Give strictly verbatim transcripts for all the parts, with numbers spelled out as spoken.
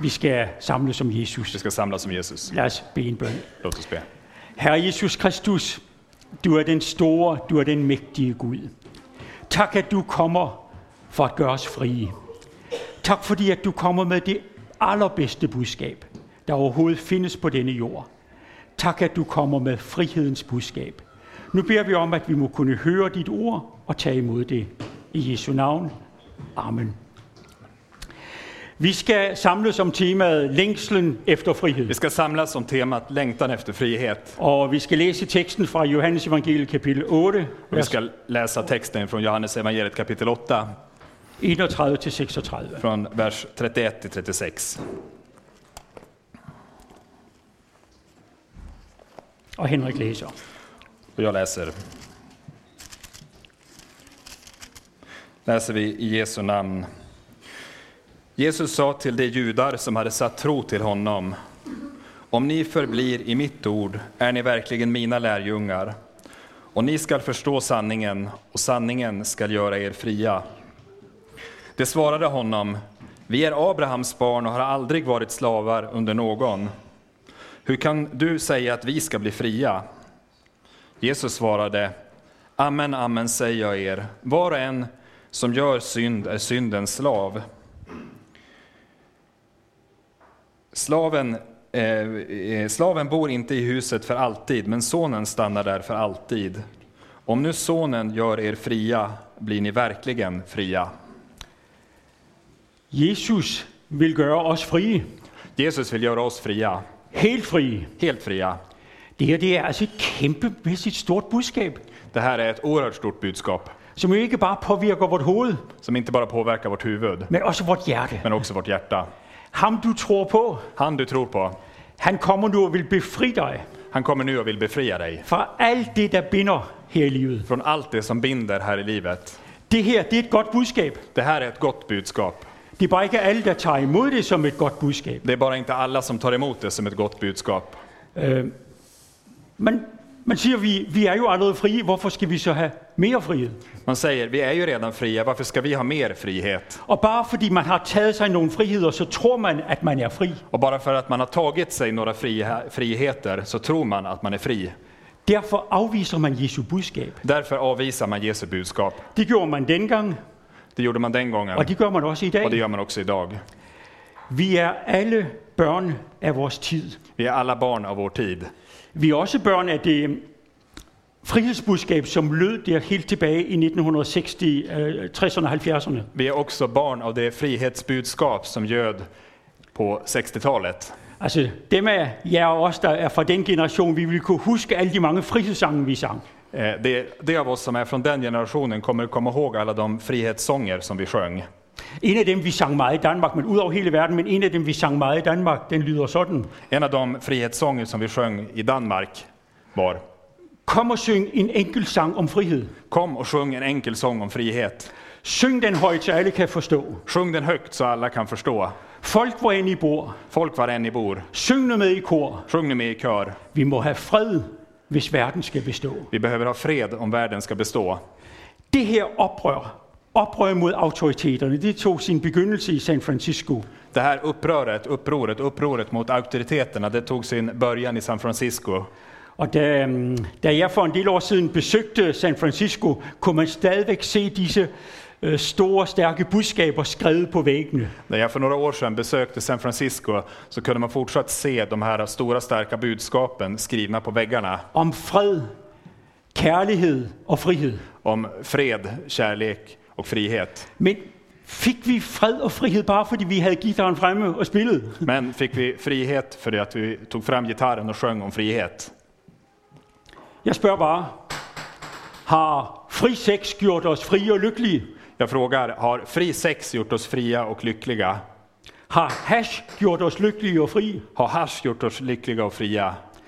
Vi ska samles som Jesus. Vi ska samlas som Jesus. Lad os bede en bøn. Låt oss be. Herre Jesus Kristus, du er den store, du er den mægtige Gud. Tak, at du kommer for at gøre os frie. Tak, fordi at du kommer med det allerbedste budskab, der overhovedet findes på denne jord. Tak, at du kommer med frihedens budskab. Nu beder vi om, at vi må kunne høre dit ord og tage imod det. I Jesu navn. Amen. Vi ska samlas om temat längslen efter frihet. Vi ska samlas om temat längtan efter frihet. Och vi ska läsa texten från Johannes evangeliet kapitel åtta. Och vi ska läsa texten från Johannes evangeliet kapitel åtta. enogtredive til seksogtredive. Från vers trettioett till trettiosex. Och Henrik läser. Och jag läser. Läser vi i Jesu namn. Jesus sa till de judar som hade satt tro till honom: om ni förblir i mitt ord är ni verkligen mina lärjungar, och ni skall förstå sanningen, och sanningen skall göra er fria. Det svarade honom: vi är Abrahams barn och har aldrig varit slavar under någon. Hur kan du säga att vi ska bli fria? Jesus svarade: amen, amen säger jag er, var och en som gör synd är syndens slav. Slaven, eh, slaven bor inte i huset för alltid, men sonen stannar där för alltid. Om nu sonen gör er fria, blir ni verkligen fria. Jesus vill göra oss fria. Jesus vill göra oss fria. Helt fria. Helt fria. Det här det är alltså ett kämpemässigt stort budskap. Det här är ett oerhört stort budskap. Som inte bara påverkar vårt huvud. Som inte bara påverkar vårt huvud. Men också vårt hjärta. Men också vårt hjärta. Han du tror på. Han du tror på. Han kommer nu och vill befria dig. Han kommer nu och vill befria dig. Från allt det där binder här i livet. Från allt det som binder här i livet. Det här det är ett gott budskap. Det här är ett gott budskap. Det är bara inte alla som tar emot det som ett gott budskap. Det är bara inte alla som tar emot det som ett gott budskap. Uh, men man säger vi vi är ju allerede fria, varför ska vi så ha mer frihet? Man säger vi är ju redan fria, varför ska vi ha mer frihet? Och bara för att man har tagit sig några friheter så tror man att man är fri. Och bara för att man har tagit sig några friheter så tror man att man är fri. Därför avvisar man Jesu budskap. Därför avvisar man Jesu budskap. Det gjorde man den gång. Det gjorde man den gången. Och det gör man också idag. Och det gör man också idag. Vi är alla barn av vår tid. Vi är alla barn av vår tid. Vi är också barn av det frihetsbudskap som lød der helt tilbage i nitten sextio, tresserne og halvfjerdserne. Vi är också barn av det frihetsbudskap som göd på sextiotalet. Altså dem af jer og os, der er fra den generation, vi vil kunne huske alle de mange frihedssange, vi sang. Det, det av oss som är från den generationen kommer komma ihåg alla de frihetssånger som vi sjöng. En af dem, vi sang meget i Danmark, men ud over hele verden, men en af dem, vi sang meget i Danmark, den lyder sådan. En av de frihetssånger som vi sjöng i Danmark var: kom og syng en enkel sang om frihed. Kom och sjung en enkel sång om frihet. Syng den højt, så alle kan forstå. Sjung den högt så alla kan förstå. Folk hvor end I bor. Folk var än i bor. Syng nu med i kor. Sjung nu med i kör. Vi må have fred, hvis verden skal bestå. Vi behöver ha fred om världen ska bestå. Det her oprør, oprør mod autoriteterne, det tog sin begyndelse i San Francisco. Det här uppröret, upproret, upproret mot auktoriteterna, det tog sin början i San Francisco. Og da, da jeg for en del år siden besøgte San Francisco, kunne man stadigvæk se disse øh, store, stærke budskaber skrevet på væggene. När jag för några år sedan besökte San Francisco så kunde man fortsatt se de här stora, starka budskapen skrivna på väggarna. Om fred, kærlighed og frihed. Om fred, kärlek och frihet. Men fick vi fred och frihet bara för att vi hade gitarren framme och spelade? Men fick vi frihet för att vi tog fram gitarren och sjöng om frihet? Jag spør bara, har fri sex gjort oss fria och lyckliga? Jag frågar, har fri sex gjort oss fria och lyckliga? Har hash gjort oss lyckliga och fria? Har hash gjort oss lyckliga och fria?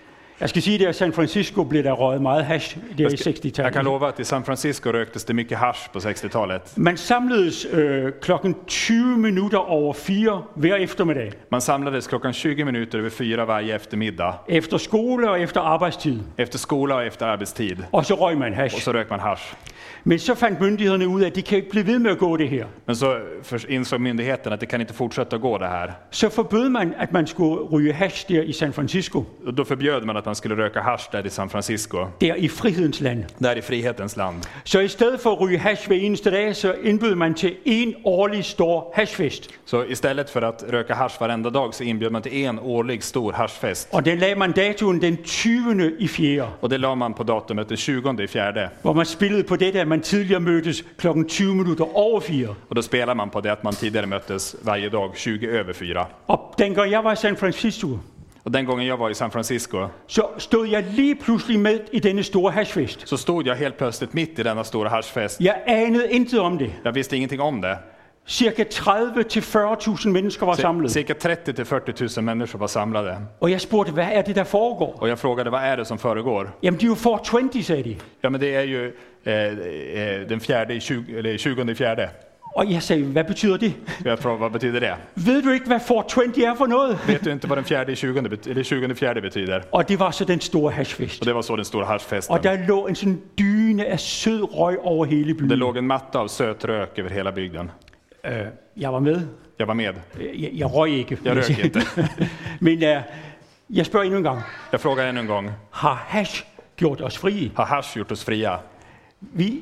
Jeg skal sige, at i San Francisco blev der røget meget hash der i sextiotalet. Jag kan lova att i San Francisco röktes det mycket hasch på sextiotalet. Man samledes øh, klokken tyve minutter over fire hver eftermiddag. Man samlades klockan tjugo minuter över fyra varje eftermiddag. Efter skole og efter arbejdstid. Efter skola och efter arbetstid. Og så røg man hash. Och så rök man hasch. Men så fandt myndighederne ud af, at de kan ikke blive ved med at gå det her. Men så insåg myndigheten att det kan inte fortsätta gå det här. Så forbød man, at man skulle ryge hash der i San Francisco. Och då förbjöd man att man skulle röka hasch där i San Francisco. Der i frihedens land. Där i frihetens land. Så i stedet for at ryge hash hver eneste dag, så indbød man til en årlig stor hashfest. Så istället för att röka hasch varenda dag så inbjöd man till en årlig stor haschfest. Og den lagde man datoen den tyvende i fjerde. Och det la man på datumet den tjugonde i fjärde. Hvor man spillede på det der, man tidligere mødtes klokken tyve minutter over fire. Och då spelar man på det att man tidigare möttes varje dag tjugo över fyra. Og dengang jeg var i San Francisco, Och den gången jag var i San Francisco så stod jeg lige pludselig med i denne store hashfest. så stod jag helt plötsligt mitt i denna stora haschfest. Jeg anede intet om det. Jag visste ingenting om det. Cirka tredive til fyrre tusind mennesker var samlet. Cirka trettio till fyrtio tusen människor var samlade. Og jeg spurgte, hvad er det, der foregår? Och jag frågade, vad är det som föregår? Jamen, det er jo four twenty, sagde de. Ja, men det är ju eh, eh, den fjärde, tjugo, eller tjugonde i fjärde. Og jeg sagde, hvad betyder det? Jag frågade, vad betyder det? Ved du ikke, hvad four twenty er for noget? Vet du inte vad den fjärde i tjugonde, bet- eller tjugonde fjärde betyder? Og det var så den store hashfest. Och det var så den stora haschfesten. Og der lå en sådan dyne af sød røg over hele Det byen. låg en matta av söt rök över hela bygden. Uh, jeg var med. Jag var med. Jeg, jeg røg ikke. Jag rök inte. Men uh, jeg spørger endnu en gang. Jag frågar ännu en gång. Har hash gjort os frie? Har hasch gjort oss fria? Vi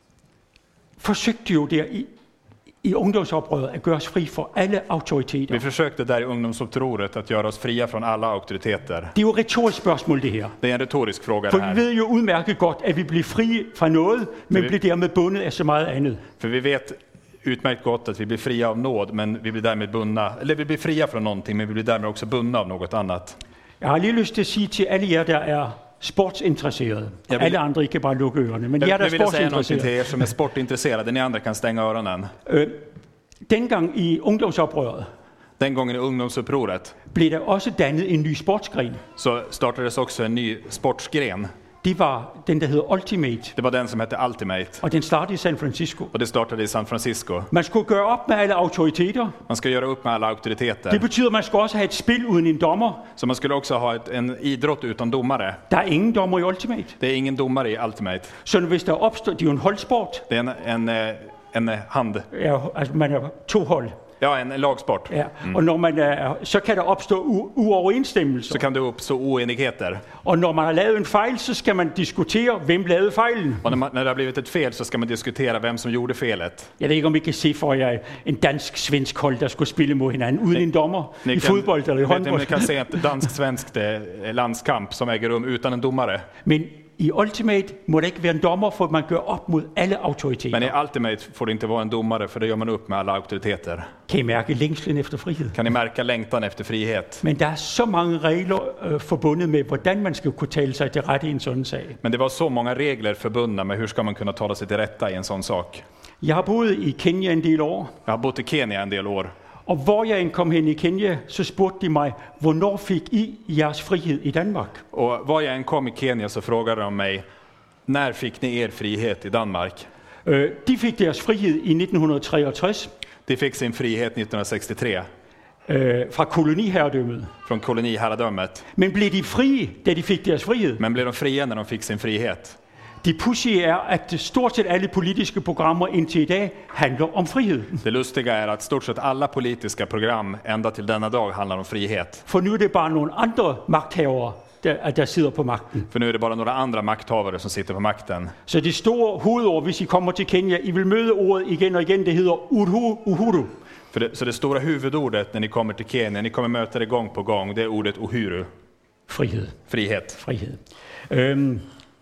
forsøgte jo der i, i ungdomsoprøret at gøre os fri for alle autoriteter. Vi försökte där i ungdomsupproret att göra oss fria från alla auktoriteter. Det er jo et retorisk spørgsmål, det her. Det är en retorisk fråga For det vi här. ved jo udmærket godt, at vi bliver frie fra noget, men vi- bliver dermed bundet af så meget andet. För vi vet utmärkt gott att vi blir fria av nåd, men vi blir därmed bundna. Eller vi blir fria från någonting, men vi blir därmed också bundna av något annat. Jeg har lige lyst til at sige til alle jer, der er sportsinteresserede. Jeg vil- Alle andre, I kan bare lukke ørerne. Men jer, Jag, der jag er vill säga någonting till sportsinteresserede. er som är sportintresserade. Ni andra kan stänga öronen. Øh, dengang i ungdomsoprøret Den gången i ungdomsupproret blev der også dannet en ny sportsgren. så startades också en ny sportsgren. Det var den, der hedder Ultimate. Det var den som hette Ultimate. Og den startede i San Francisco. Och det startade i San Francisco. Man skulle gøre op med alle autoriteter. Man ska göra upp med alla auktoriteter. Det betyder, at man skal også have et spil uden en dommer. Så man skulle också ha ett, en idrott utan domare. Der er ingen dommer i Ultimate. Det är ingen domare i Ultimate. Så hvis der opstår, det er jo en holdsport. Det är en, en, eh, en hand. Ja, altså man er to hold. Ja, en lagsport. Ja. Og når man er, så kan der opstå u- uoverensstemmelser. Så kan det uppstå oenigheter. Og når man har lavet en fejl, så skal man diskutere, hvem lavede fejlen. Och när, man, när det har blivit ett fel så ska man diskutera vem som gjorde felet. Jeg ved ikke, om I kan se for jer en dansk-svensk hold, der skulle spille mod hinanden, uden en dommer Ni i fodbold eller i vet ni, håndbold. ni kan se ett dansk-svenskt eh, landskamp som äger rum utan en domare. Men i Ultimate må der ikke være en dommer, for man gør op mod alle autoriteter. Men i Ultimate får det inte vara en domare, för det gör man upp med alla auktoriteter. Kan I mærke længslen efter frihed? Kan ni märka längtan efter frihet? Men der er så mange regler øh, forbundet med, hvordan man skal kunne tale sig til rette i en sådan sag. Men det var så många regler förbundna med hur ska man kunna tala sig till rätta i en sån sak. Jeg har boet i Kenya en del år, Jag har bott i Kenya en del år. og hvor jeg end kom hen i Kenya, så spurgte de mig, hvornår fik I jeres frihed i Danmark? Och var jag än kom i Kenya så frågade de mig, när fick ni er frihet i Danmark? Øh, de fik deres frihed i nitten treogtres De fick sin frihet nittonhundrasextiotre øh, fra koloniherredømmet. från koloniherradömet. Men blev de frie, da de fik deres frihed? Men blev de fria när de fick sin frihet? Det pudsige er, at stort set alle politiske programmer indtil i dag handler om frihed. Det lustiga är att stort sett alla politiska program ända till denna dag handlar om frihet. For nu er det bare nogle andre magthavere, der, der sidder på magten. För nu är det bara några andra makthavare som sitter på makten. Så det store hovedord, hvis I kommer til Kenya, I vil møde ordet igen og igen, det hedder Uhuru, Uhuru. För det, så det stora huvudordet när ni kommer till Kenya, ni kommer möta det gång på gång, det är ordet uhuru, Frihed. frihet. Frihed. Øhm,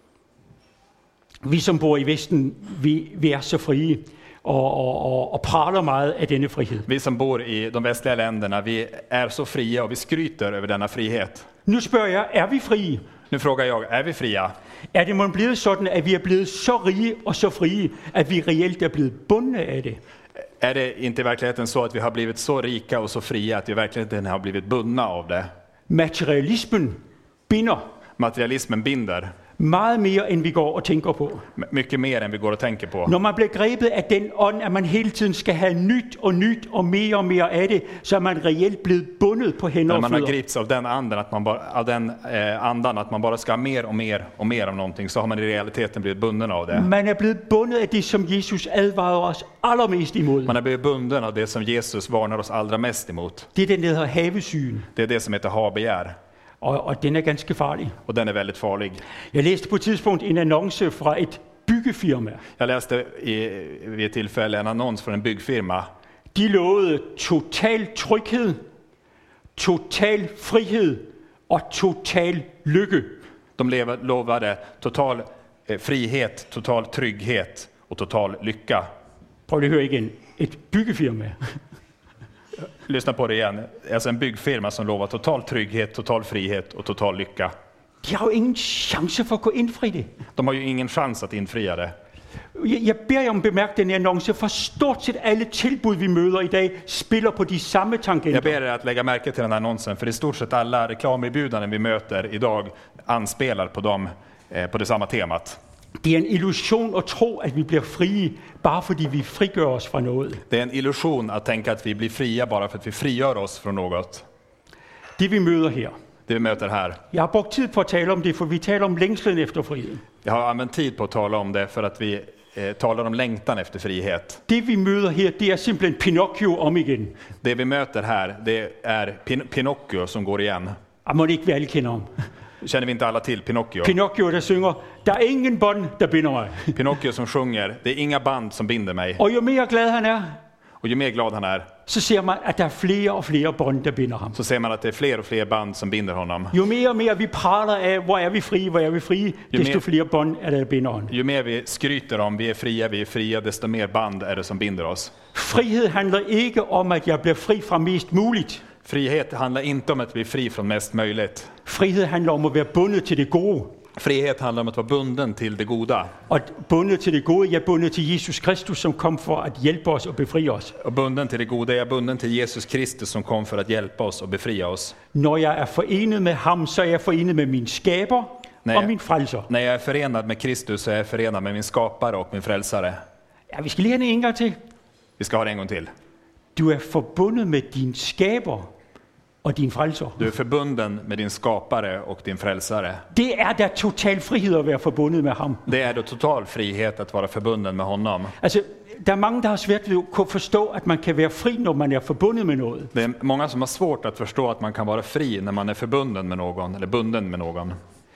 vi som bor i Vesten, vi, vi er så frie og, og, og, og praler meget af denne frihed. Vi som bor i de västliga länderna, vi är så fria och vi skryter över denna frihet. Nu spørger jeg, er vi frie? Nu frågar jag, är vi fria? Er det måske blevet sådan, at vi er blevet så rige og så frie, at vi reelt er blevet bundne af det? Är det inte i verkligheten så att vi har blivit så rika och så fria att vi verkligen har blivit bundna av det? Materialismen binder. Materialismen binder. Meget mere, end vi går og tænker på. Mycket mer än vi går och tänker på. Når man bliver grebet af den ånd, at man hele tiden skal have nyt og nyt og mere og mere af det, så er man reelt blevet bundet på hænder När og man har fødder. gripits av den anden, att man bara, av den eh, andan, att man bara ska ha mer och mer och mer av någonting, så har man i realiteten blivit bunden av det. Man er blevet bundet af det, som Jesus advarer os allermest imod. Man har blivit bunden av det som Jesus varnar oss allra mest emot. Det er den, der hedder havesygen, Det är det som heter habegär. og, og den er ganske farlig. Och den är väldigt farlig. Jeg læste på et tidspunkt en annonce fra et byggefirma. Jag läste i, vid ett tillfälle en annons från en byggfirma. De lovede total tryghed, total frihed og total lykke. De lev- lovade total eh, frihet, total trygghet och total lycka. Prøv lige at høre igen. Et byggefirma. Lyssna på det igen. Alltså en byggfirma som lovar total trygghet, total frihet och total lycka. De har jo ingen chance for at kunne indfri det. De har ju ingen chans att infria det. Jeg, jeg beder jer om at bemærke den her annonce, for stort set alle tilbud, vi møder i dag, spiller på de samme Jag tangenter. ber er att lägga märke till den här annonsen, för i stort sett alla reklamerbjudanden vi möter idag anspelar på dem, eh, på det samma temat. Det er en illusion at tro, at vi bliver frie, bare fordi vi frigør os fra noget. Det är en illusion att tänka att vi blir fria bara för att vi frigör oss från något. Det vi møder her. Det vi möter här. Jeg har brugt tid på at tale om det, for vi taler om længslen efter friheden. Jag har använt tid på att tala om det för att vi eh, talar om längtan efter frihet. Det vi møder her, det er simpelthen Pinocchio om igen. Det vi möter här, det är Pin- Pinocchio som går igen. Jeg må ikke, vi alle kender ham. Känner vi inte alla till Pinocchio? Pinocchio, der synger, der er ingen bånd, der binder mig. Pinocchio som sjunger, det är inga band som binder mig. Og jo mere glad han er, Och ju mer glad han är, så ser man, at der er flere og flere bånd, der binder ham. så ser man att det är fler och fler band som binder honom. Jo mere og mere vi praler af, hvor er vi frie, hvor er vi frie, desto mere- flere bånd er der, der binder ham. Ju mer vi skryter om vi är fria, vi är fria, desto mer band är det som binder oss. Frihed handler ikke om, at jeg bliver fri fra mest muligt. Frihet handlar inte om att bli fri från mest möjligt. Frihed handler om at være bundet til det gode. Frihet handlar om att vara bunden till det goda. Og bundet til det gode, jeg er bundet til Jesus Kristus, som kom for at hjælpe os og befri os. Och bunden till det goda, jag är bunden till Jesus Kristus som kom för att hjälpa oss och befria oss. Når jeg er forenet med ham, så er jeg forenet med min skaber Nej. og min frelser. När jag är förenad med Kristus så är jag förenad med min skapare och min frälsare. Ja, vi skal lige have den en gang til. Vi ska ha det en gång till. Du er forbundet med din skaber og din frelser. Du är förbunden med din skapare och din frälsare. Det er da total frihed at være forbundet med ham. Det är då total frihet att vara förbunden med honom. Altså, der er mange, der har svært ved at kunne forstå, at man kan være fri, når man er forbundet med noget. Det är många som har svårt att förstå att man kan vara fri när man är förbunden med någon eller bunden med någon.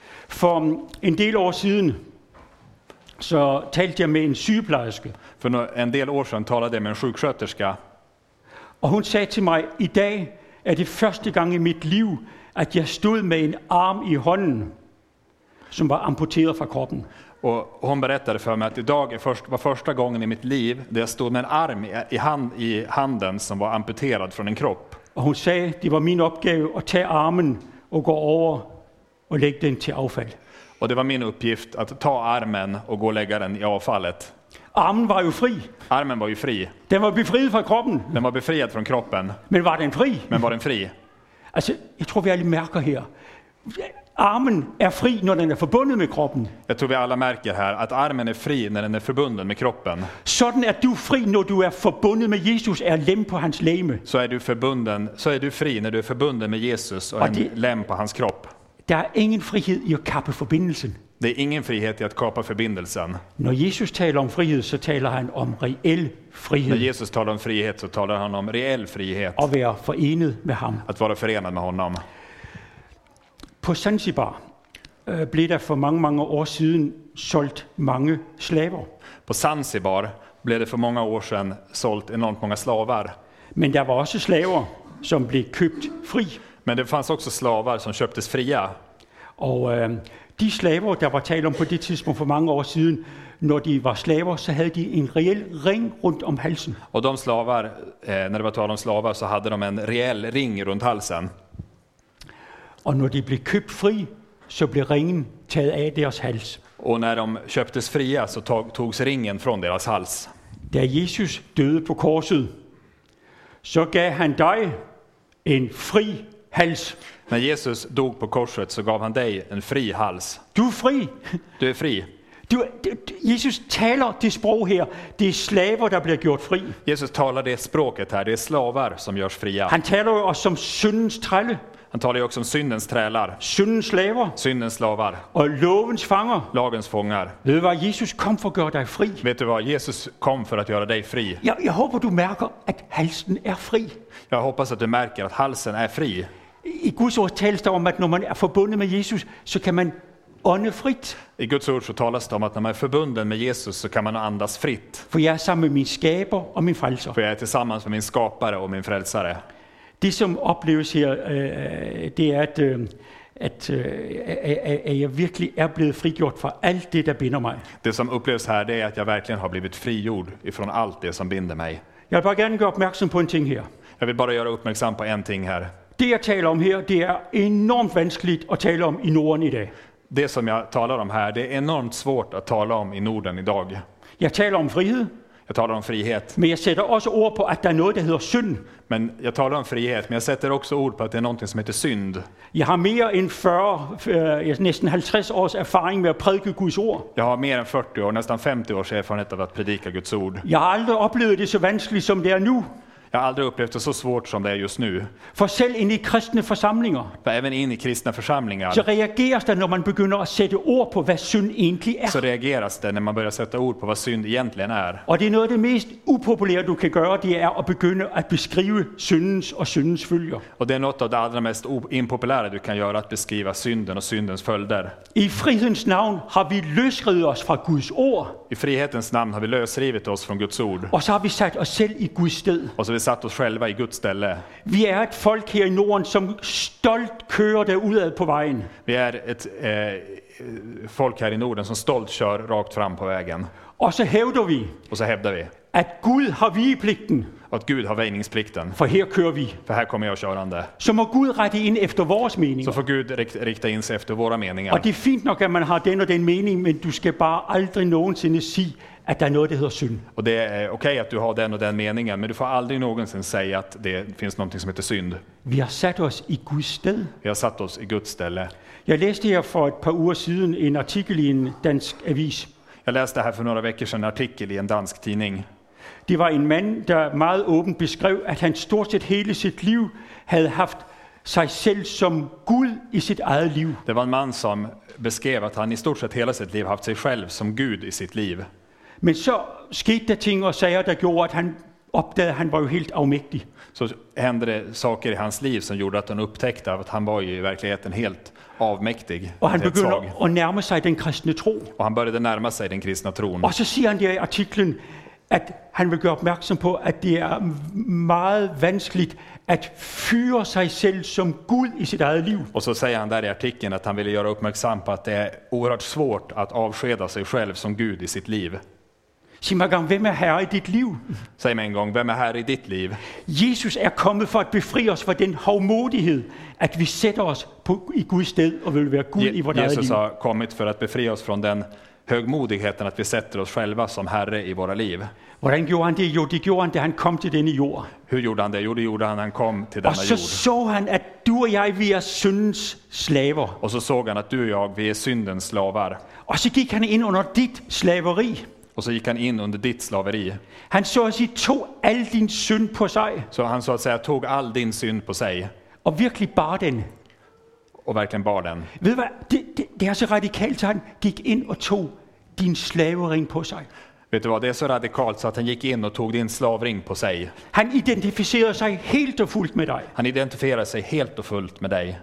For en del år siden, så talte jeg med en sygeplejerske, För nå- en del år sedan talade jag med en sjuksköterska og hun sagde til mig, i dag er det første gang i mit liv, at jeg stod med en arm i hånden, som var amputeret fra kroppen. och hon berättade för mig att idag är först, var första gången i mitt liv där jag stod med en arm i, i, hand, i handen som var amputerad från en kropp. Og hun sagde, det var min opgave at tage armen og gå over og lægge den til affald. Och det var min uppgift att ta armen och gå och lägga den i avfallet. Armen var jo fri. Armen var ju fri. Den var befriet fra kroppen. Den var befriad från kroppen, Men var den fri? men var den fri? Altså, jeg tror, vi alle mærker her. Armen er fri, når den er forbundet med kroppen. Jag tror vi alla märker här att armen är fri när den är förbunden med kroppen. Sådan er du fri, når du er forbundet med Jesus, er lem på hans legeme. Så är du förbunden, så är du fri när du är förbunden med Jesus och Och en det- lem på hans kropp. Der er ingen frihed i at kappe forbindelsen. Det är ingen frihet i att kapa förbindelsen. Når Jesus taler om frihed, så taler han om reel När frihed. Jesus talar om frihet så talar han om reell frihet. At være forenet med ham. Att vara förenad med honom. På Zanzibar øh, blev der for mange, mange år siden solgt mange slaver. På Zanzibar blev det för många år sedan sålt enormt många slavar. Men der var også slaver, som blev købt fri. Men det fanns också slavar som köptes fria. Og øh, de slaver, der var talt om på det tidspunkt for mange år siden, når de var slaver, så havde de en reel ring rundt om halsen. Och de slavar, eh, när det var tal om slavar så hade de en rejäl ring runt halsen. Og når de blev købt fri, så blev ringen taget af deres hals. Och när de köptes fria så tog, togs ringen från deras hals. Da Jesus døde på korset, så gav han dig en fri hals. När Jesus dog på korset så gav han dig en fri hals. Du er fri. Du är fri. Du, Jesus taler det sprog her. Det er slaver, der bliver gjort fri. Jesus talar det språket här. Det är slavar som görs fria. Han taler jo også som syndens trælle, Han talar ju också om syndens trälar, syndens slaver syndens slavar, og lovens fanger. lagens fångar. Ved du hvad? Jesus kom for at gøre dig fri. Vet du vad? Jesus kom för att göra dig fri. Jeg, jeg håber, du mærker, at halsen er fri. Jag hoppas att du märker att halsen är fri. I Guds ord tales der om, at når man er forbundet med Jesus, så kan man ånde frit. I Guds ord så talas det om att när man är förbunden med Jesus så kan man andas fritt. For jeg er sammen med min skaber og min frelser. För jag är tillsammans med min skapare och min frälsare. Det som opleves her, øh, det er, at, øh, at, øh, at, at jeg virkelig er blevet frigjort fra alt det, der binder mig. Det som upplevs här det är att jag verkligen har blivit frigjord ifrån allt det som binder mig. Jeg vil bare gerne gøre opmærksom på en ting her. Jag vill bara göra uppmärksam på en ting här. Det, jeg taler om her, det er enormt vanskeligt at tale om i Norden i dag. Det som jag talar om här, det är enormt svårt att tala om i Norden idag. Jeg taler om frihed, Jag talar om frihet, men jeg sætter også ord på, at der er noget, der hedder synd. men jag talar om frihet, men jag sätter också ord på att det är någonting som heter synd. Jeg har mere end fyrre, øh, næsten halvtreds års erfaring med at prædike Guds ord. Jag har mer än fyrtio år, nästan femtio års erfarenhet av att predika Guds ord. Jeg har aldrig oplevet det så vanskeligt, som det er nu. Jag har aldrig upplevt det så svårt som det är just nu. For selv inde i kristne forsamlinger, För även in i kristna så församlingar reageres der, når man begynder at sætte ord på, hvad synd egentlig så er. reageras det när man börjar sätta ord på vad synd egentligen är. Og det er noget af det mest upopulære, du kan gøre, det er at begynde at beskrive syndens og syndens følger. Och det är något av det allra mest o- impopulära du kan göra, att beskriva synden och syndens följder. I frihedens navn har vi løsredet os fra Guds ord, I frihetens namn har vi lösrivit oss från Guds ord. og så har vi sat os selv i Guds sted. Och så har vi satt oss själva i Guds ställe. Vi er et folk her i Norden, som stolt kører derudad på vejen. Vi är ett eh, folk här i Norden som stolt kör rakt fram på vägen. Og så hævder vi, Och så hävdar vi at Gud har vigepligten, att Gud har väjningsplikten. for her kører vi. För här kommer jag körande. Så må Gud rette ind efter vores Så meninger. får Gud rikt- rikta in sig efter våra meningar. Og det er fint nok, at man har den og den mening, men du skal bare aldrig nogensinde sige, at der er noget, der hedder synd. Och det är okej att du har den och den meningen, men du får aldrig någonsin säga att det finns någonting som heter synd. Vi har sat os i Guds sted. Vi har satt oss i Guds ställe. Jeg læste her for et par uger siden en artikel i en dansk avis. Jag läste här för några veckor sedan en artikel i en dansk tidning. Det var en mand, der meget åbent beskrev, at han stort set hele sit liv havde haft sig selv som Gud i sit eget liv. Det var en man som beskrev att han i stort sett hela sitt liv haft sig själv som Gud i sitt liv. Men så skete der ting og sager, der gjorde, at han opdagede, at han var jo helt afmægtig. Så hände det saker i hans liv som gjorde att han upptäckte att han var ju i verkligheten helt avmäktig. Og han helt svag. begynder at nærme sig den kristne tro. Och han började närma sig den kristna tron. Og så siger han der i artiklen, at han vil gøre opmærksom på, at det er meget vanskeligt at fyre sig selv som Gud i sit eget liv. Och så säger han där i artikeln att han ville göra uppmärksam på att det är oerhört svårt att avskeda sig själv som Gud i sitt liv. Sig mig gang, hvem er herre i dit liv? Säg mig en gång, vem är här i ditt liv? Jesus er kommet for at befri os fra den hovmodighed, at vi sætter os på, i Guds sted og vil være Gud i vores eget Jesus liv. har kommit för att befria oss från den högmodigheten att vi sätter oss själva som Herre i våra liv. Hvordan gjorde han det? Jo, det gjorde han, da han kom til denne jord. Hur gjorde han det? Jo, det gjorde han när han kom till denna Og så jord. så han, at du og jeg, vi er syndens slaver. Och så såg han att du och jag, vi är syndens slavar. Og så gik han ind under dit slaveri. Och så gick han in under ditt slaveri. Han så at sige, tog al din synd på sig, Så han så att säga tog all din synd på sig og virkelig bar den. och verkligen bar den. Ved du hvad? Det, det, det er så radikalt, så han gik ind og tog din slavering på sig. Vet du vad, det är så radikalt så att han gick in och tog din slavring på sig. Han identificerede sig helt og fuldt med dig, Han identifierade sig helt och fullt med dig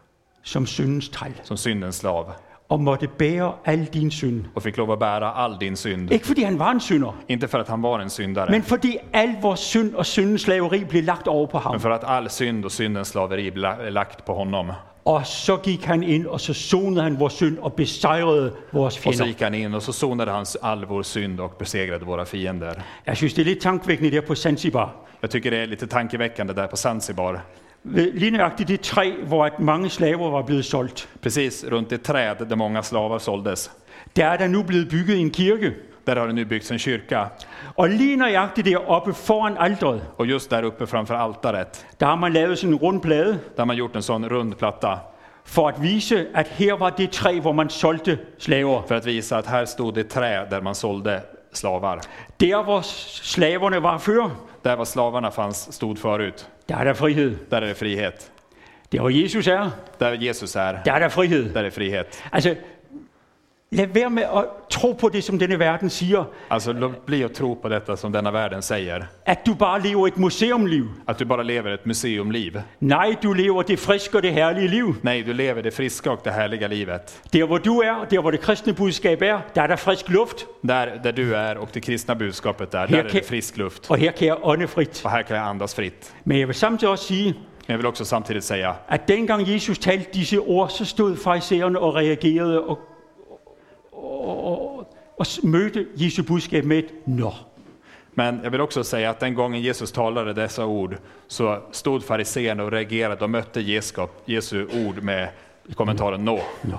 som syndens træl, som syndens slav og måtte bære al din synd. och fick lov att bära all din synd. Ikke fordi han var en synder, Inte för att han var en syndare, men fordi al vores synd og syndens slaveri blev lagt over på ham. men för att all synd och syndens slaveri blev lagt på honom. Og så gik han ind, og så sonede han vores synd og besejrede vores Och så fjender. gick han in och så sonade han all vår synd och besegrade våra fiender. Jeg synes, det er lidt tankevækkende der på Zanzibar. Jag tycker det är lite tankeväckande där på Zanzibar. Ved lige nøjagtigt det træ, hvor at mange slaver var blevet solgt. Precis runt ett träd där många slavar såldes. Der er der nu blevet bygget en kirke. Där har det nu byggts en kyrka. Og lige nøjagtigt deroppe foran alteret, Och just där uppe framför altaret, der har man lavet sådan en rund plade, där har man gjort en sån rund platta. for at vise, at her var det træ, hvor man solgte slaver. För att visa att här stod det trä där man sålde slavar. Der, hvor slaverne var før, Där var slavarna fanns, stod förut. der er der frihed. Där är det frihet. Der, hvor Jesus er, Där Jesus är, der er der frihed. där är det frihet. Altså, lad være med at tro på det, som denne verden siger, Alltså låt bli att tro på detta som denna världen säger. at du bare lever et museumliv. Att du bara lever ett museumliv. Nej, du lever det friske og det herlige liv. Nej, du lever det friska och det härliga livet. Der, hvor du er, der, hvor det kristne budskab er, der er der frisk luft, Där, där du är och det kristna budskapet där, Här där är kan- det frisk luft. og her kan jeg ånde frit. Och här kan jag andas fritt. Men jeg vil samtidig også sige, Men jag vill också samtidigt säga at dengang Jesus talte disse ord, så stod farisæerne og reagerede og, og, og, og mødte Jesu budskab med et nå. Men jag vill också säga att den gången Jesus talade dessa ord så stod fariséerna och reagerade och mötte Jeskap, Jesu ord med kommentaren nå. Nå.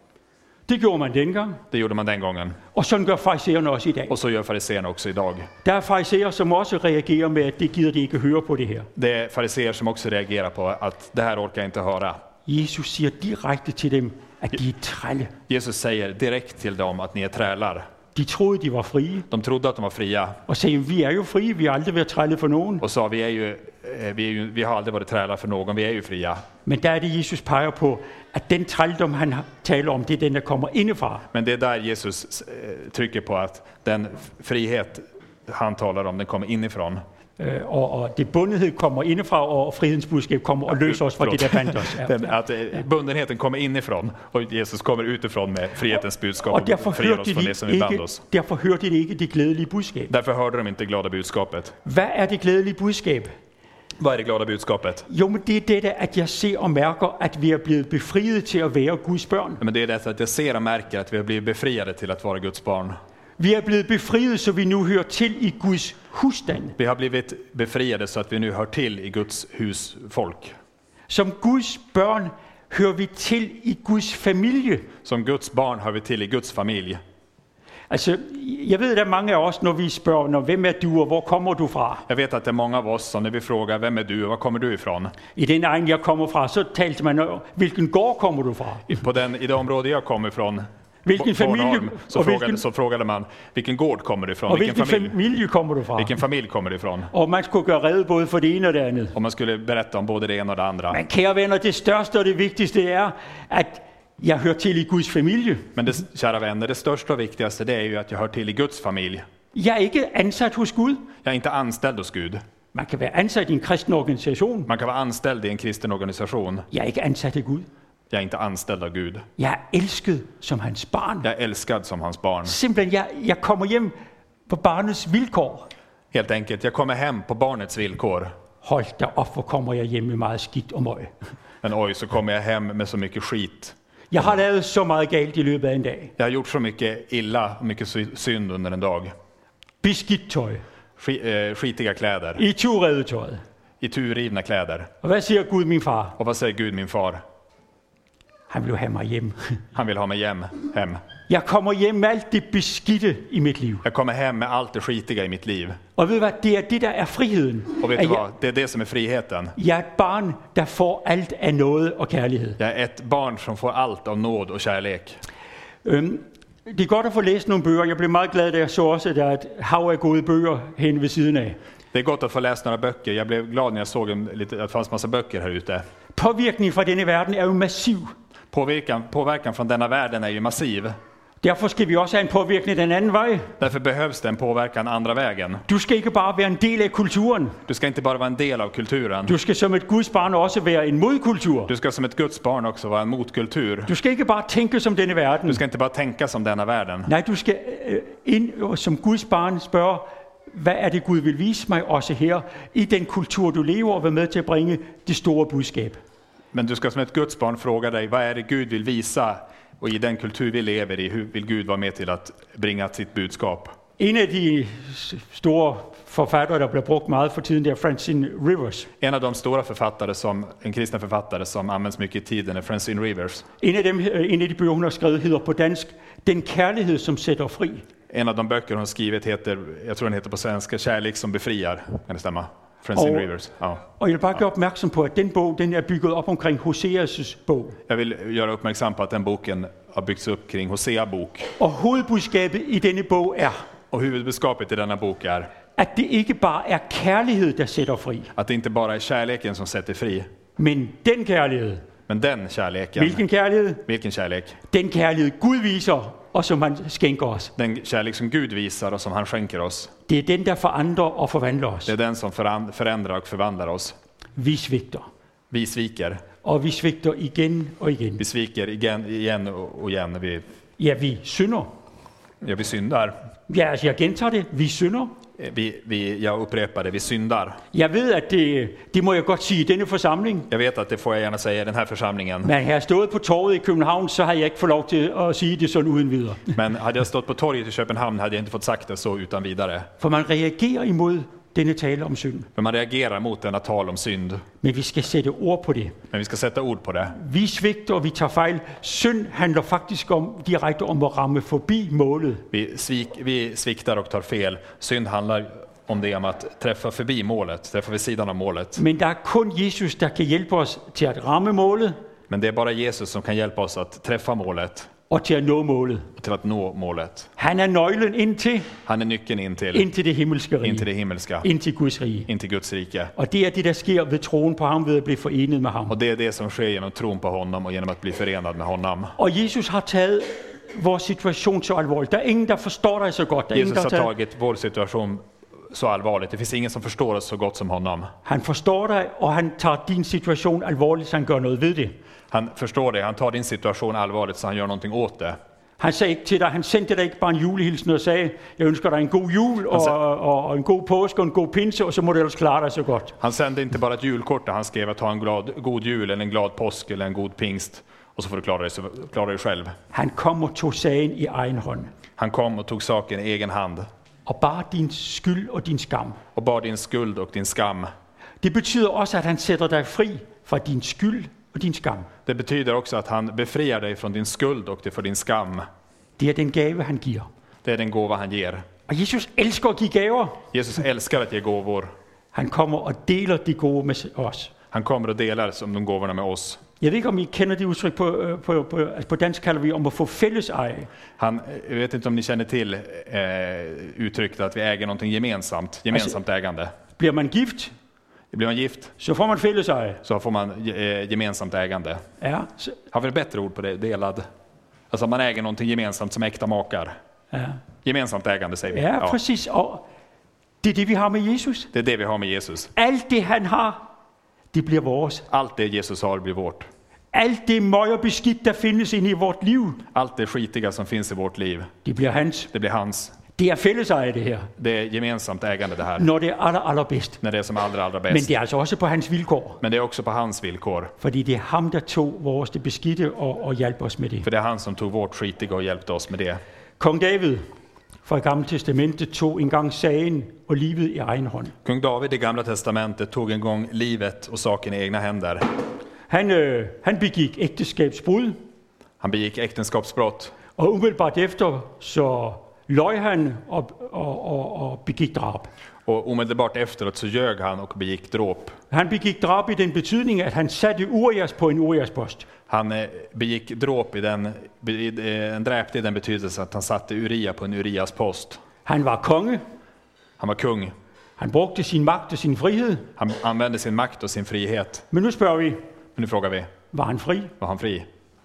Det gjorde man dengang, Det gjorde man den gången. og sådan gør farisæerne også i dag. Och så gör fariséerna också idag. Der er farisæer, som også reagerer med, at det gider de ikke høre på det her. Det är fariséer som också reagerar på att det här orkar jag inte höra. Jesus siger direkte til dem, at de er trælle. Jesus säger direkt till dem att ni är trälar. De troede, de var frie, De trodde att de var fria og sagde, vi er jo frie, vi har aldrig været trælle for nogen. och sa vi, är ju, eh, vi, är ju, vi har aldrig varit trälar för någon, vi är ju fria. Men der er det, Jesus peger på, at den trældom, han taler om, det er den, der kommer indefra. Men det är där Jesus eh, trycker på att den frihet han talar om, den kommer inifrån. Øh, og, og det bundethed kommer indefra, og frihedens budskab kommer og løser os fra det, der bandt os. Ja. Den, att eh, bundenheten kommer inifrån och Jesus kommer utifrån med frihetens budskap Og och derfor friar hørte, oss från det som de vi band ikke, oss. derfor hørte de ikke det glædelige budskab. Därför hörde de inte glada budskapet. Hvad er det glædelige budskab? Vad är det glada budskapet? Jo, men det er dette, at jeg ser og mærker, at vi er blevet befriet til at være Guds børn. Men det är detta att jag ser och märker att vi har blivit befriade till att vara Guds barn. Vi er blevet befriet, så vi nu hører til i Guds husstand. Vi har blivit befriade så att vi nu hör till i Guds husfolk. Som Guds børn hører vi til i Guds familie. Som Guds barn hör vi till i Guds familj. Altså, jeg ved, der er mange af os, når vi spørger, når, hvem er du, og hvor kommer du fra? Jag vet att det är många av oss som när vi frågar vem är du och var kommer du ifrån? I den egen, jeg kommer fra, så talte man, hvilken gård kommer du fra? På den, i det område jag kommer ifrån, Hvilken familie, Bornholm, så, og frågade, hvilken, så frågade man vilken gård kommer du ifrån? og Vilken hvilken familj? familie kommer du fra? Vilken familj kommer du ifrån? Og man skulle gøre rede både for det ene og det andet. Om man skulle berätta om både det ena och det andra. Men kære venner, det største og det vigtigste er, at jeg hører til i Guds familie. Men det, kära vänner, det största och viktigaste det är ju att jag hör till i Guds familj. Jeg er ikke ansat hos Gud. Jag är inte anställd hos Gud. Man kan være ansat i en kristen organisation. Man kan vara anställd i en kristen organisation. Jeg er ikke ansat af Gud. Jag är inte anställd av Gud. Jeg er elsket som hans barn. Jag är älskad som hans barn. Simpelthen, jeg, jeg kommer hjem på barnets vilkår. Helt enkelt, jag kommer hem på barnets villkor. Hold da op, hvor kommer jeg hjem med meget skidt og møg. Men oj, så kommer jag hem med så mycket skit. Jeg har lavet så meget galt i løbet af en dag. Jag har gjort så mycket illa, mycket sy- synd under en dag. Beskidt tøj. Sk- eh, skitiga kläder, I turredetøjet. iturrivna kläder. Og hvad siger Gud, min far? Och vad säger Gud, min far? Han vil have mig hjem. Han vill ha mig hem. hem. Jeg kommer hjem med alt det beskidte i mit liv. Jag kommer hem med allt det skitiga i mitt liv. Og ved du hvad, det er det, der er friheden. Och vet At du jeg, vad? Det är det som är friheten. jeg er et barn, der får alt af noget og kærlighed. Jag är ett barn som får allt av nåd och kärlek. Øhm, det er godt at få læst nogle bøger. Jeg blev meget glad, da jeg så også, at der er et hav af gode bøger hen ved siden af. Det är gott att få läsa några böcker. Jag blev glad när jag såg en, lite, att det fanns massa böcker här ute. Påvirkningen fra denne verden er jo massiv. Påverkan, påverkan från denna världen är ju massiv. Derfor skal vi også have en påvirkning den anden vej. Därför behövs det en påverkan andra vägen. Du skal ikke bare være en del af kulturen. Du ska inte bara vara en del av kulturen. Du skal som et Guds barn også være en modkultur. Du ska som ett Guds barn också vara en motkultur. Du skal ikke bare tænke som denne verden. Du ska inte bara tänka som denna världen. Nej, du skal øh, ind og som Guds barn spørge, hvad er det Gud vil vise mig også her i den kultur du lever og være med til at bringe det store budskab. Men du ska som ett Guds barn fråga dig, vad är det Gud vill visa? Och i den kultur vi lever i, hur vill Gud vara med till att bringa sitt budskap? En af de store forfattere, der bliver brugt meget for tiden, det er Francine Rivers. En av de stora författare som, en kristen författare som används mycket i tiden är Francine Rivers. En af, dem, en af de bøger, hun har skrevet, hedder på dansk, Den kærlighed, som sætter fri. En av de böcker hon skrivit heter, jag tror den heter på svenska, Kärlek som befriar. Kan det stämma? Francine Och- Rivers. Ja. Og jeg vil bare gøre opmærksom på, at den bog den er bygget op omkring Hoseas' bog. Jag vill göra uppmärksam på att den boken har byggts upp kring Hosea bok. Og hovedbudskabet i denne bog er, Och huvudbudskapet i denna bok är at det ikke bare er kærlighed, der sætter fri, att det inte bara är kärleken som sätter fri, men den kærlighed. men den kärleken. Hvilken kærlighed? Vilken kärlek? Den kærlighed Gud viser, og som han skænker os. Den kärlek som Gud visar och som han skänker oss. Det er den, der forandrer og forvandler os. Det är den som föran- förändrar och förvandlar oss. Vi svigter, Vi sviker. og vi svigter igen og igen. Vi sviker igen, igen och och igen. Vi, Ja, vi synder. ja, vi syndar. Ja, altså jeg gentager det. Vi synder. Vi, vi, jag upprepar det, vi syndar. Jeg ved, at det, det må jeg godt sige i denne forsamling. Jag vet att det får jag gärna säga i den här församlingen. Men havde jeg stået på torvet i København, så havde jeg ikke fået lov til at sige det sådan uden videre. Men hade jag stått på torget i Köpenhamn hade jag inte fått sagt det så utan vidare. For man reagerer imod denne tale om synd. För man reagerar mot denna tal om synd. Men vi skal sætte ord på det. Men vi ska sätta ord på det. Vi svigter, og vi tager fejl. Synd handler faktisk om, direkte om at ramme forbi målet. Vi, svik, vi sviktar och tar fel. Synd handlar om det om att träffa förbi målet, träffa vid sidan av målet. Men der er kun Jesus, der kan hjælpe os til at ramme målet Men det är bara Jesus som kan hjälpa oss att träffa målet og til at nå målet. och till att nå målet. Han er nøglen ind til, Han är nyckeln in till, ind til det himmelske in till rige. det himmelska, Ind til Guds rige. in till Guds rike. Og det er det, der sker ved troen på ham, ved at blive forenet med ham. Och det är det som sker genom tron på honom och genom att bli förenad med honom. Og Jesus har taget vores situation så alvorligt. Der er ingen, der forstår dig så godt. Der er ingen, Jesus der har har taget... tagit vår situation så allvarligt. Det finns ingen som förstår oss så gott som honom. Han forstår dig, og han tager din situation alvorligt, så han gør noget ved det. Han förstår det, han tar din situation allvarligt så han gör någonting åt det. Han sagde ikke til dig, han sendte dig ikke bare en julehilsen og sagde, jeg ønsker dig en god jul og, og, og en god påske og en god pinse, og så må du ellers klare dig så godt. Han sände inte bara ett julkort där han skrev att ha en glad, god jul eller en glad påsk eller en god pingst och så får du klara dig, så, klara dig själv. Han kom og tog sagen i egen hånd. Han kom och tog saken i egen hand Og bare din skyld og din skam. och bar din skuld och din skam. Det betyder også, at han sætter dig fri fra din skyld og din skam. Det betyder också att han befriar dig från din skuld och det för din skam. Det er den gave, han giver. Det är den gåva han ger. Og Jesus elsker at give gaver. Jesus älskar att ge gåvor. Han kommer og deler de gode med os. Han kommer och delar som de gåvorna med oss. Jeg ved ikke, om I kender det udtryk på, øh, på, på, altså på dansk kalder vi om at få fælleseje. Han, jag vet inte om ni känner till eh, uttrycket att vi äger någonting gemensamt. Gemensamt ägande. Bliver man gift, Blir man gift så får man fælleseje. så får man eh, gemensamt ägande. Ja, så, Har vi ett bättre ord på det? Delad. Alltså man äger någonting gemensamt som äkta makar. ja. Gemensamt ägande säger vi. ja, præcis. Og det er det, vi har med Jesus. Det är det vi har med Jesus. Alt det, han har, det bliver vores. Allt det Jesus har blir vårt. Alt det møg og beskidt, der findes inde i vort liv, Allt det skitiga som finns i vårt liv, det bliver hans. det blir hans. Det er fælleseje, det her, Det är gemensamt ägande det här. når det er aller, allerbedst. När det är som allra, allra Men bäst. det er altså også på hans vilkår, Men det är också på hans villkor. fordi det er ham, der tog vores det beskidte og, og hjalp os med det. För det är han som tog vårt skitiga och hjälpte oss med det. Kong David fra Gamle Testamentet tog engang sagen og livet i egen hånd. Kung David i Gamla testamentet tog en gång livet och saken i egna händer. Han, øh, han begik ægteskabsbrud, Han begick äktenskapsbrott og umiddelbart efter så løj han og, og, og, og begik drab. och omedelbart efteråt så ljög han och begick dråp. Han begik drab i den betydning, at han satte Urias på en Urias-post. Han eh, begick dråp i den, be- eh, en dräpte i den betydelse att han satte Uria på en Urias post. Han var konge, Han var kung. han brugte sin magt og sin frihed. Han använde sin makt och sin frihet. Men nu spørger vi, Men nu frågar vi, var han fri? var han fri?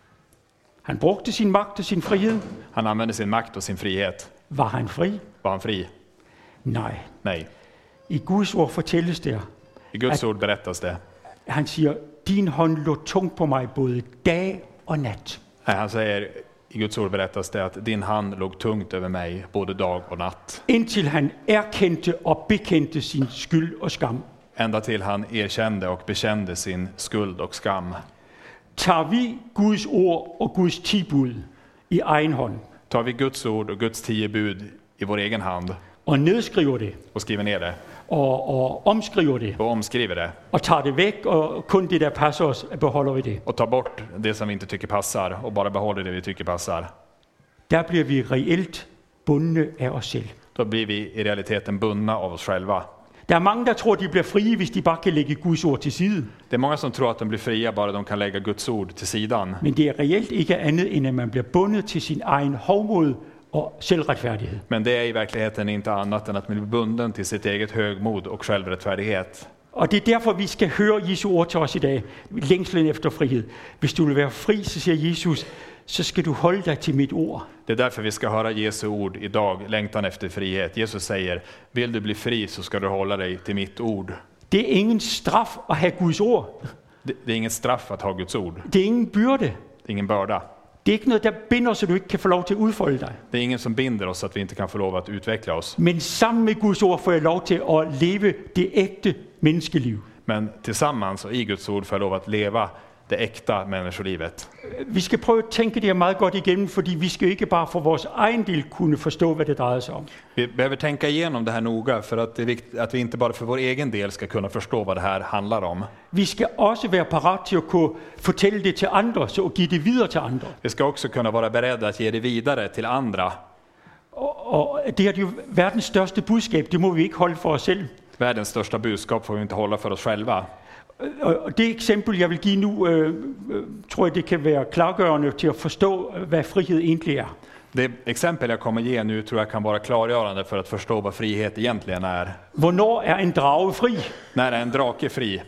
Han brugte sin magt og sin frihed. Han använde sin makt och sin frihet. Var han fri? Var han fri? Nej. Nej. I Guds ord fortælles der, I Guds ord berättas det. han siger, din hånd lå tungt på mig både dag og nat. Nej, han säger, i Guds ord berättas det att din hand låg tungt över mig både dag och natt. Indtil han erkendte og bekendte sin skyld og skam. Ända till han erkände och bekände sin skuld och skam. Tager vi Guds ord og Guds tibud i egen hånd Tar vi Guds ord och Guds tio bud i vår egen hand og nedskriver det och skriver ner det og, og omskriver det och omskriver det og tager det væk og kun det, der passer os, beholder vi det. och tar bort det som vi inte tycker passar och bara behåller det vi tycker passar, Der bliver vi reelt bundne af os selv. Då blir vi i realiteten bundna av oss själva. Der er mange, der tror, de bliver frie, hvis de bare kan lægge Guds ord til side. Det är många som tror att de blir fria bara de kan lägga Guds ord till sidan. Men det er reelt ikke andet, end at man bliver bundet til sin egen hovmod og selvretfærdighed. Men det är i verkligheten inte annat än att man blir bunden till sitt eget högmod och självrättfärdighet. Og det er derfor, vi skal høre Jesu ord til os i dag. Længslen efter frihed. Hvis du vil være fri, så siger Jesus, så skal du holde dig til mit ord. Det är därför vi ska höra Jesu ord idag, längtan efter frihet. Jesus säger, vill du bli fri så ska du hålla dig till mitt ord. Det er ingen straf at have Guds ord. Det, det är inget straff att ha Guds ord. Det er ingen byrde. Det är ingen börda. Det er ikke noget, der binder, så du ikke kan få lov til at udfolde dig. Det är ingen som binder oss så att vi inte kan få lov att utveckla oss. Men sammen med Guds ord får jeg lov til at leve det ægte menneskeliv. Men tillsammans och i Guds ord får jag lov att leva det äkta människolivet. Vi skal prøve at tænke det her meget godt igennem, fordi vi skal ikke bare for vores egen del kunne forstå, hvad det drejer sig om. Vi behöver tänka igenom det här noga för att det är viktigt att vi inte bara för vår egen del ska kunna förstå vad det här handlar om. Vi skal også være parat til at kunne fortælle det til andre, så at give det videre til andre. Vi ska också kunna vara beredda att ge det vidare till andra. Og, og det er jo verdens største budskab, det må vi ikke holde for os selv. Världens största budskap får vi inte hålla för oss själva. Og det eksempel, jeg vil give nu, øh, øh, tror jeg, det kan være klargørende til at forstå, hvad frihed egentlig er. Det exempel jag kommer ge nu tror jag kan vara klargörande för att förstå vad frihet egentligen är. Hvornår er en drage fri? När är en drake fri?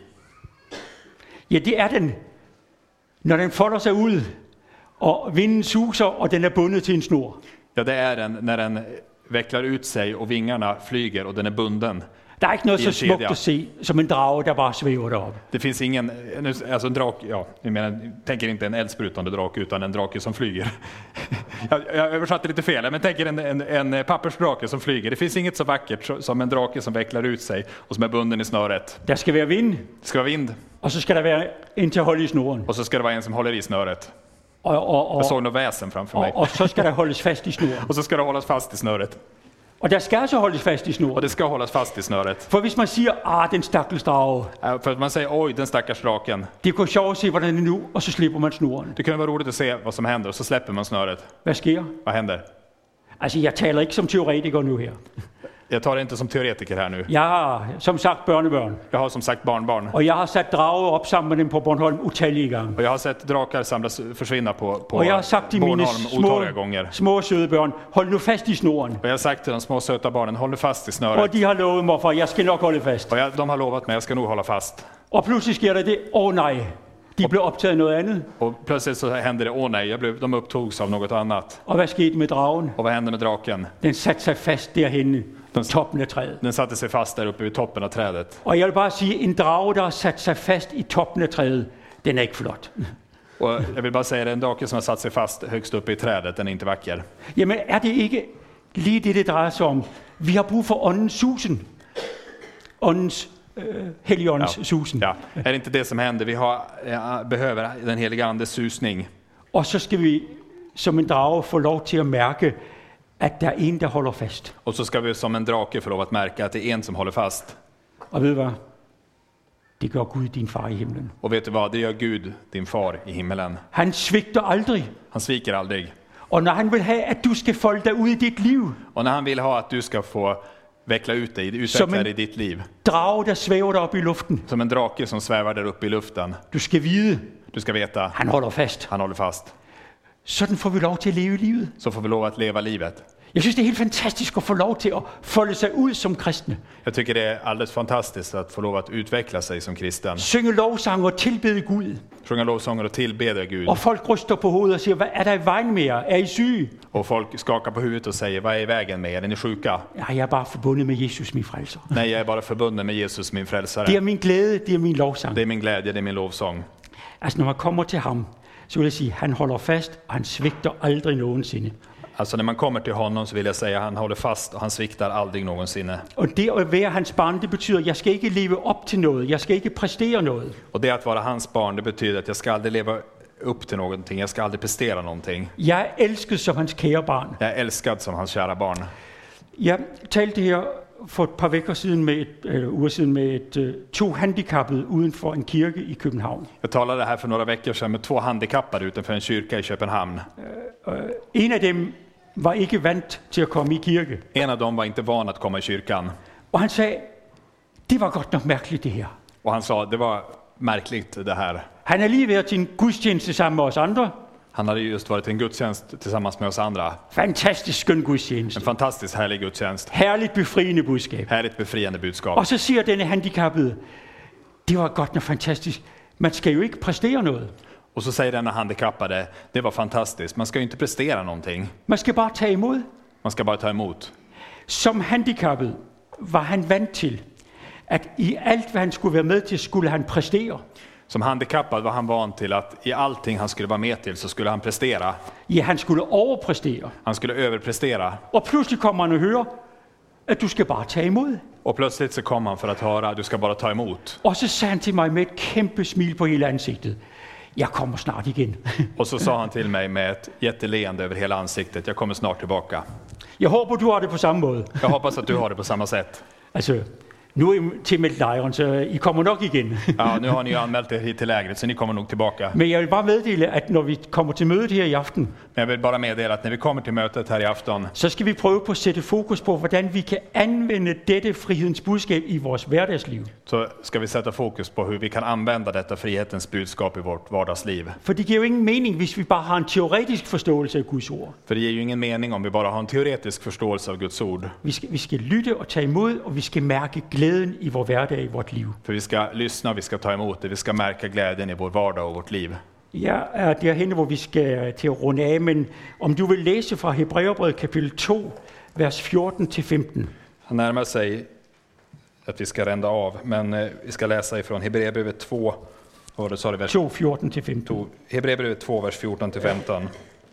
Ja, det er den, når den folder sig ud, og vinden suser, og den er bundet til en snor. Ja, det är den när den vecklar ut sig och vingarna flyger och den är bunden. Der er ikke noget I så en smukt kedja. at se, som en drage, der bare svæver deroppe. Det finns ingen, alltså en drake, ja, jag menar, jag tänker inte en eldsprutande drake utan en drake som flyger. jag, jag översatte lite fel, men tänker en, en, en pappersdrake som flyger. Det finns inget så vackert som en drake som vecklar ut sig och som är bunden i snöret. Der skal være vind, Det ska vara vind og så skal der være en til at holde i snoren. och så ska det vara en som håller i snöret. Og, og, og, Jag såg något väsen framför mig. og, og så skal der holdes fast i snoren. Och så ska det hållas fast i snöret. Og der skal altså holdes fast i Och snoren. det ska hållas fast i snöret. For hvis man siger, ah, den stakkels drage, Äh, För att man säger, oj, den stackars draken. det går sjovt at se, hvordan den er nu, og så slipper man snoren. Det kan vara roligt att se vad som händer och så släpper man snöret. Hvad sker? Vad händer? Altså, jeg taler ikke som teoretiker nu her. Jag tar det inte som teoretiker här nu. Jeg har, som sagt, børnebørn. Jag har som sagt barnbarn. Og jeg har sat drage op sammen med dem på Bornholm utallige gange. Och jag har sett drakar samlas, försvinna på, på Og jeg har sagt til mine Bornholm små, otaliga gånger. små søde børn, hold nu fast i snoren. Och jag har sagt till de små söta barnen, håll nu fast i Og snöret. de har lovet mig for, jeg skal nok holde fast. Och jag, de har lovat mig, jag ska nog hålla fast. Og pludselig sker der det, åh oh, nej, de blev optaget af noget andet. Och plötsligt så hände det, åh nej, jag blev, de upptogs av något annat. Og hvad skete med dragen? Och vad hände med draken? Den satte sig fast derhenne, på toppen af træet. Den satte sig fast där uppe vid toppen av trädet. Og jeg vil bare sige, en drage, der har sat sig fast i toppen af træet, den er ikke flot. Och jag vill bara säga det, en drake som har satt sig fast högst uppe i trädet, den är inte vacker. Jamen, er det ikke lige det, det drejer sig om? Vi har brug for åndens susen. Åndens, øh, helligåndens Ja. susen. Ja, är det inte det som händer? Vi har, ja, behöver den heliga andes susning. Og så skal vi som en drage få lov til at mærke, at der er en, der holder fast. Och så ska vi som en drake få lov att märka att det är en som håller fast. Og ved du hvad? Det gør Gud, din far i himlen. Och vet du vad? Det gör Gud, din far i himmelen. Han svigter aldrig. Han sviker aldrig. Og når han vil have, at du skal folde dig ud i dit liv, Och när han vill ha att du ska få veckla ut dig, Som utveckla en- dig i ditt liv. drage, der svæver dig op i luften. Som en drake som svävar där uppe i luften. Du skal vide, Du ska veta, han holder fast. han håller fast. Sådan får vi lov til at leve livet. Så får vi lov att leva livet. Jeg synes, det er helt fantastisk at få lov til at folde sig ud som kristne. Jag tycker det är alldeles fantastiskt att få lov att utveckla sig som kristen. Synge lovsang og tilbede Gud. Sjunga lovsånger och tillbeda Gud. Og folk ryster på hovedet og siger, hvad er der i vejen med jer? Er I syge? Och folk skakar på huvudet och säger, vad är i vägen med er? Är ni sjuka? Ja, jeg er bare forbundet med Jesus, min frelser. Nej, jag är bara förbunden med Jesus, min Det frälsare. er min glæde, det er min lovsang. Det är min glädje, det är min lovsång. Altså, når man kommer til ham, så vil jeg sige, han holder fast, og han svigter aldrig nogensinde. Alltså när man kommer till honom så vill jag säga, han håller fast och han sviktar aldrig någonsinne. Og det at være hans barn, det betyder, at jeg skal ikke leve op til noget. Jeg skal ikke præstere noget. Och det att vara hans barn, det betyder att jag ska aldrig leva upp till någonting. Jag ska aldrig prestera någonting. Jeg er elsket som hans kære barn. Jag är älskad som hans kära barn. Jeg talte her for et par vekker siden med et, eller uger siden med et, uh, to handicappede uden for en kirke i København. Jag talade här för några veckor sedan med två handikappade utanför en kyrka i Köpenhamn. Uh, en af dem var ikke vant til at komme i kirke. En av dem var inte van att komma i kyrkan. Og han sagde, det var godt nok mærkeligt det her. Och han sa, det var märkligt det här. Han har lige været til en gudstjeneste sammen med os andre. Han hade just varit i en gudstjänst tillsammans med oss andra. Fantastisk skøn gudstjeneste. En fantastiskt härlig gudstjänst. Herligt befriende budskab. Härligt befriande budskap. Og så siger denne handicappede, det var godt nok fantastisk. Man skal jo ikke præstere noget. Och så säger denna handikappade, det var fantastiskt. Man ska ju inte prestera någonting. Man skal bare tage imod. Man ska bara ta emot. Som handicappet var han vant til, at i alt, hvad han skulle være med til, skulle han præstere. Som handikappad var han van till att i allting han skulle vara med till så skulle han prestera. Ja, han skulle overpræstere. Han skulle överprestera. Og pludselig kommer han og hører, at du skal bare tage imod. Och plötsligt så kom han för att höra, du ska bara ta emot. Og så sagde han til mig med et kæmpe smil på hele ansigtet, jeg kommer snart igen. Och så sa han till mig med ett jätteleende över hela ansiktet, jag kommer snart tillbaka. Jeg håber, du har det på samme måde. Jag hoppas att du har det på samma sätt. Altså, nu er I tilmeldt lejren, så I kommer nok igen. Ja, nu har ni ju anmält er hit till lägret så ni kommer nog tillbaka. Men jeg vil bare meddele, at når vi kommer til mødet her i aften, Men jag vill bara meddela att när vi kommer till mötet här i afton så skal vi prøve på at sætte fokus på, hvordan vi kan anvende dette frihedens budskab i vores hverdagsliv. så ska vi sätta fokus på hur vi kan använda detta frihetens budskap i vårt vardagsliv. For det giver jo ingen mening, hvis vi bare har en teoretisk forståelse af Guds ord. För det ger ju ingen mening om vi bara har en teoretisk förståelse av Guds ord. Vi skal, vi skal lytte og tage imod, og vi skal mærke glæden i vores hverdag, i vort liv. För vi ska lyssna, vi ska ta emot det, vi ska märka glädjen i vår vardag och vårt liv. Jeg er derhen, hvor vi skal til at runde af, men om du vil læse fra Hebræerbrevet kapitel to, vers fjorten til femten. Han närmar sig att vi ska rända av, men eh, vi ska läsa ifrån Hebreerbrevet två, och det sa det vers to, fjorten til femten. to, Hebreerbrevet två, vers fjorton till femton.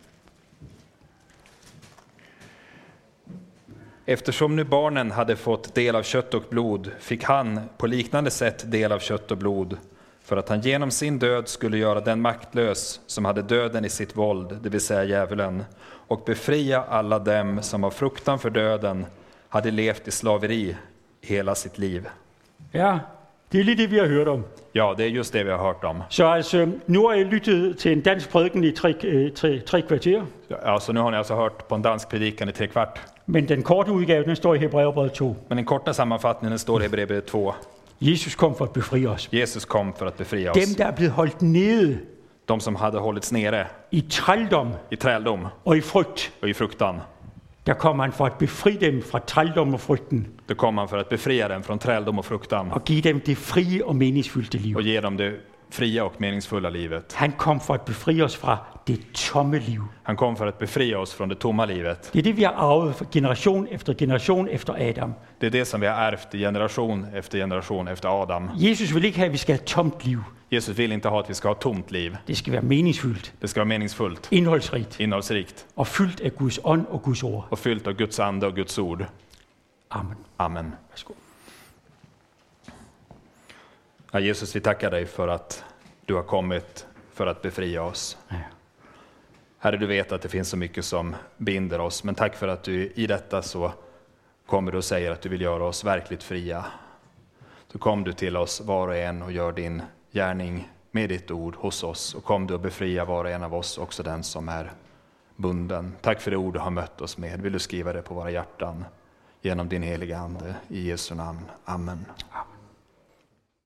Eftersom nu barnen hade fått del av kött och blod fick han på liknande sätt del av kött och blod, för att han genom sin död skulle göra den maktlös som hade döden i sitt våld, det vill säga djävulen, och befria alla dem som av fruktan för döden hade levt i slaveri hela sitt liv. Ja, det er lige det, vi har hørt om. Ja, det är just det vi har hört om. Så altså, nu har jeg lyttet til en dansk prædiken i tre, øh, tre, tre kvarter, Ja, så nu har ni alltså hört på en dansk predikan i tre kvart. men den korte udgave, den står i Hebræerbrevet to. Men den korta sammanfattningen står i Hebreerbrevet två. Jesus kom for at befri os. Jesus kom för att befria Dem, oss. der er blevet holdt nede De som hade hållits nere i trældom i träldom og i frygt, och i fruktan. der kommer han for at befri dem fra trældom og frygten, Då kom han för att befria dem från träldom och fruktan og give dem det frie og meningsfyldte liv. och ge dem det fria och meningsfulla livet. Han kom for at befri os fra det tomme liv. Han kom för att befria oss från det tomma livet. Det er det, vi har arvet fra generation efter generation efter Adam. Det är det som vi har ärvt i generation efter generation efter Adam. Jesus vil ikke have, at vi skal have et tomt liv. Jesus vill inte ha att vi ska ha ett tomt liv. Det skal være meningsfyldt, Det ska vara meningsfullt, indholdsrigt innehållsrikt og fyldt af Guds ånd og Guds ord. och fyllt av Guds ande och Guds ord. Amen. Amen. Værsgo. Ja, Jesus, vi tackar dig för att du har kommit för att befria oss. Ja. Herre, du vet att det finns så mycket som binder oss, men tack för att du i detta så kommer du och säger att du vill göra oss verkligt fria. Så kom du till oss var och en och gör din gärning med ditt ord hos oss, och kom du och befria var och en av oss, också den som är bunden. Tack för det ord du har mött oss med. Vill du skriva det på våra hjärtan genom din heliga ande i Jesu namn. Amen.